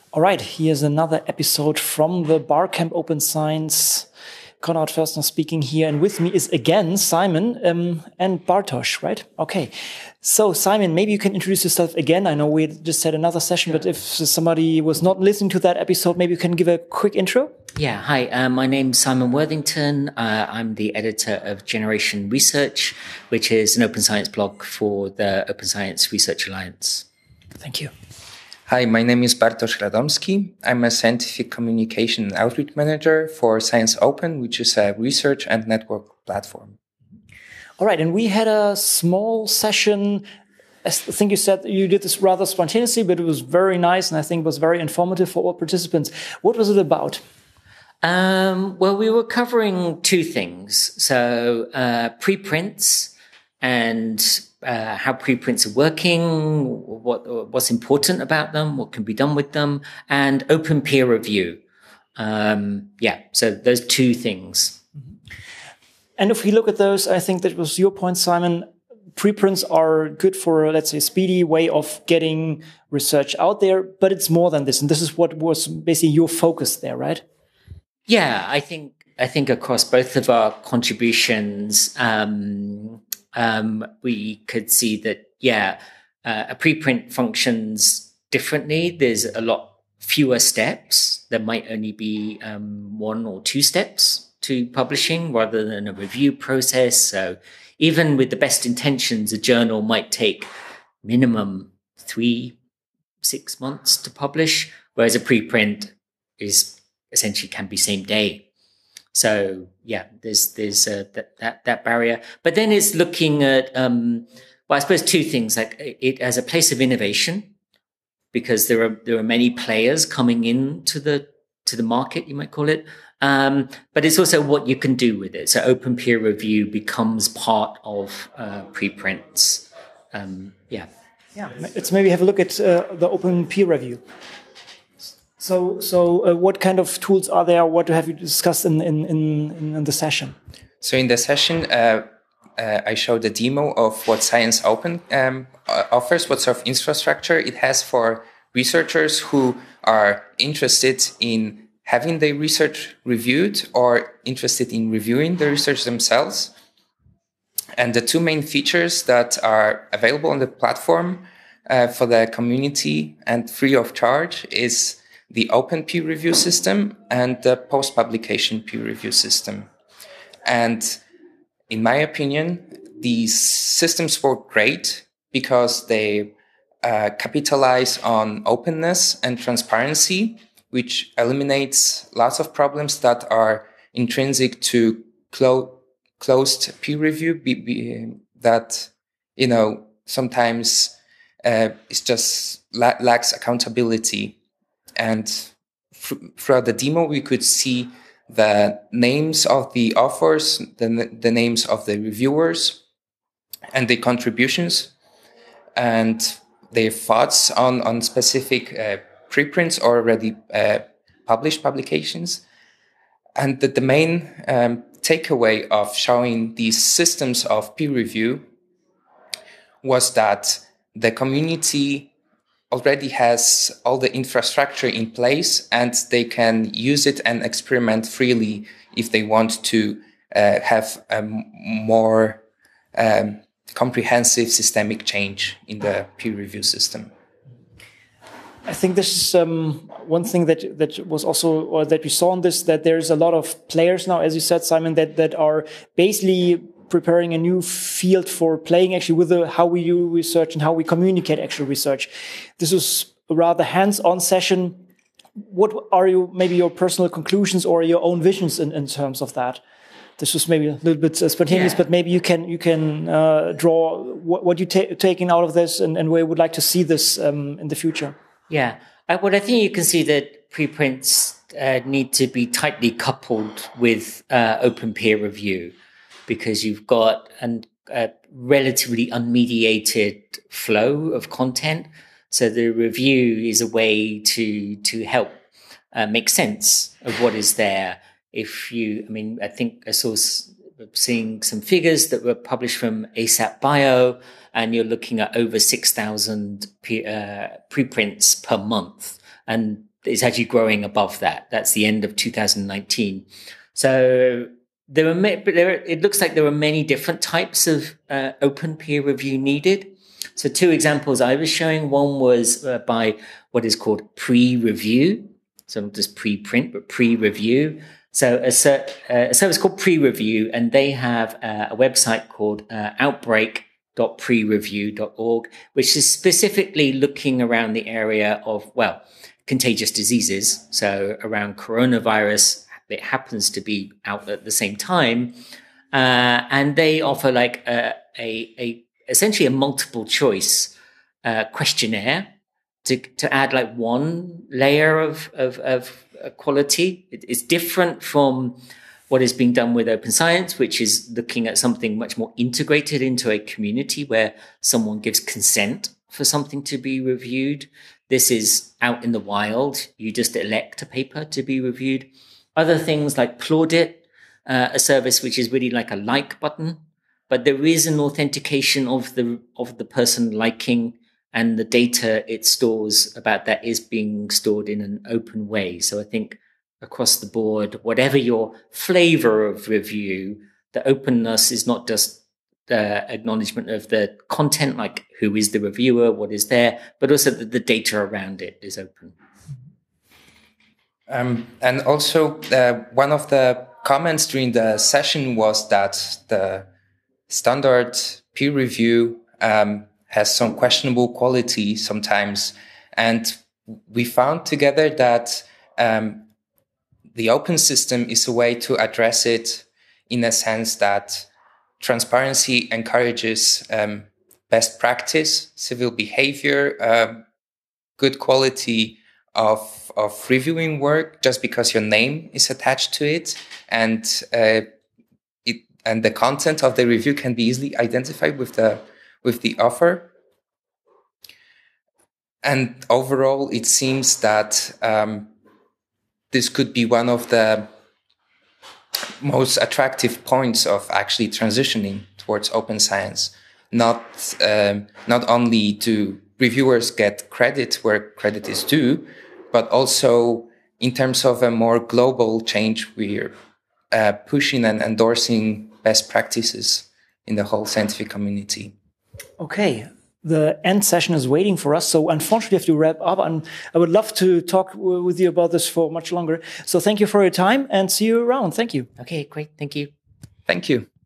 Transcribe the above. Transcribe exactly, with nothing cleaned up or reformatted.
All right, here's another episode from the Barcamp Open Science. Konrad Förstner speaking here, and with me is again Simon um, and Bartosz, right? Okay. So Simon, maybe you can introduce yourself again. I know we just had another session, but if somebody was not listening to that episode, maybe you can give a quick intro. Yeah, hi, uh, my name's Simon Worthington. Uh, I'm the editor of Generation Research, which is an open science blog for the Open Science Research Alliance. Thank you. Hi, my name is Bartosz Radomski. I'm a scientific communication and outreach manager for Science Open, which is a research and network platform. All right, and we had a small session. I think you said you did this rather spontaneously, but it was very nice, and I think it was very informative for all participants. What was it about? Um, well, we were covering two things. So uh, preprints and uh, how preprints are working, what what's important about them, what can be done with them, and open peer review. Um, yeah, so those two things. And if we look at those, I think that was your point, Simon. Preprints are good for, let's say, a speedy way of getting research out there, but it's more than this. And this is what was basically your focus there, right? Yeah, I think I think across both of our contributions, um, um, we could see that, yeah, uh, a preprint functions differently. There's a lot fewer steps. There might only be um, one or two steps to publishing rather than a review process. So even with the best intentions, a journal might take minimum three, six months to publish, whereas a preprint is essentially can be same day. So yeah, there's there's uh, that that that barrier. But then it's looking at um, well, I suppose two things, like it as a place of innovation, because there are there are many players coming into the to the market, you might call it. Um, but it's also what you can do with it. So open peer review becomes part of uh, preprints. Um, yeah. Yeah. Let's maybe have a look at uh, the open peer review. So, so uh, what kind of tools are there? What have you discussed in in in, in the session? So in the session, uh, uh, I showed a demo of what Science Open um, offers, what sort of infrastructure it has for researchers who are interested in having their research reviewed or interested in reviewing the research themselves. And the two main features that are available on the platform uh, for the community and free of charge is the open peer review system and the post-publication peer review system. And in my opinion, these systems work great because they uh, capitalize on openness and transparency, which eliminates lots of problems that are intrinsic to clo- closed peer review be, be, that, you know, sometimes uh, it just la- lacks accountability. And f- throughout the demo, we could see the names of the authors, the, the names of the reviewers, and the contributions, and their thoughts on, on specific uh, preprints or already uh, published publications. And the, the main um, takeaway of showing these systems of peer review was that the community already has all the infrastructure in place and they can use it and experiment freely if they want to uh, have a more um, comprehensive systemic change in the peer review system. I think this is um, one thing that that was also, or that we saw in this, that there's a lot of players now, as you said, Simon, that that are basically preparing a new field for playing actually with the, how we do research and how we communicate actual research. This was a rather hands-on session. What are you, maybe your personal conclusions or your own visions in, in terms of that? This was maybe a little bit uh, spontaneous, yeah. But maybe you can you can uh, draw what, what you ta- taking out of this and, and where you would like to see this um, in the future. Yeah, I, well, I think you can see that preprints uh, need to be tightly coupled with uh, open peer review, because you've got an, a relatively unmediated flow of content. So the review is a way to to help uh, make sense of what is there. If you, I mean, I think I saw seeing some figures that were published from ASAP Bio, and you're looking at over six thousand pre, uh, preprints per month. And it's actually growing above that. That's the end of two thousand nineteen. So there are, but there, it looks like there are many different types of uh, open peer review needed. So two examples I was showing, one was uh, by what is called pre-review. So not just pre-print, but pre-review. So a, a service called Pre-Review, and they have uh, a website called uh, outbreak dot pre review dot org, which is specifically looking around the area of, well, contagious diseases. So around coronavirus, it happens to be out at the same time. Uh, and they offer like a, a, a essentially a multiple choice uh, questionnaire to, to add like one layer of, of, of quality. It, it's different from what is being done with Open Science, which is looking at something much more integrated into a community where someone gives consent for something to be reviewed. This is out in the wild. You just elect a paper to be reviewed. Other things like Plaudit, uh, a service which is really like a like button, but there is an authentication of the of the person liking, and the data it stores about that is being stored in an open way. So I think across the board, whatever your flavor of review, the openness is not just the acknowledgement of the content, like who is the reviewer, what is there, but also that the data around it is open. Um, and also, uh, one of the comments during the session was that the standard peer review um, has some questionable quality sometimes. And we found together that um, the open system is a way to address it, in a sense that transparency encourages um, best practice, civil behavior, uh, good quality of of reviewing work just because your name is attached to it, and uh, it and the content of the review can be easily identified with the with the author. And overall, it seems that um, this could be one of the most attractive points of actually transitioning towards open science. Not um, not only do reviewers get credit where credit is due, but also in terms of a more global change, we're uh, pushing and endorsing best practices in the whole scientific community. Okay. The end session is waiting for us, so unfortunately we have to wrap up. And I would love to talk w- with you about this for much longer. So thank you for your time and see you around. Thank you. Okay, great. Thank you. Thank you.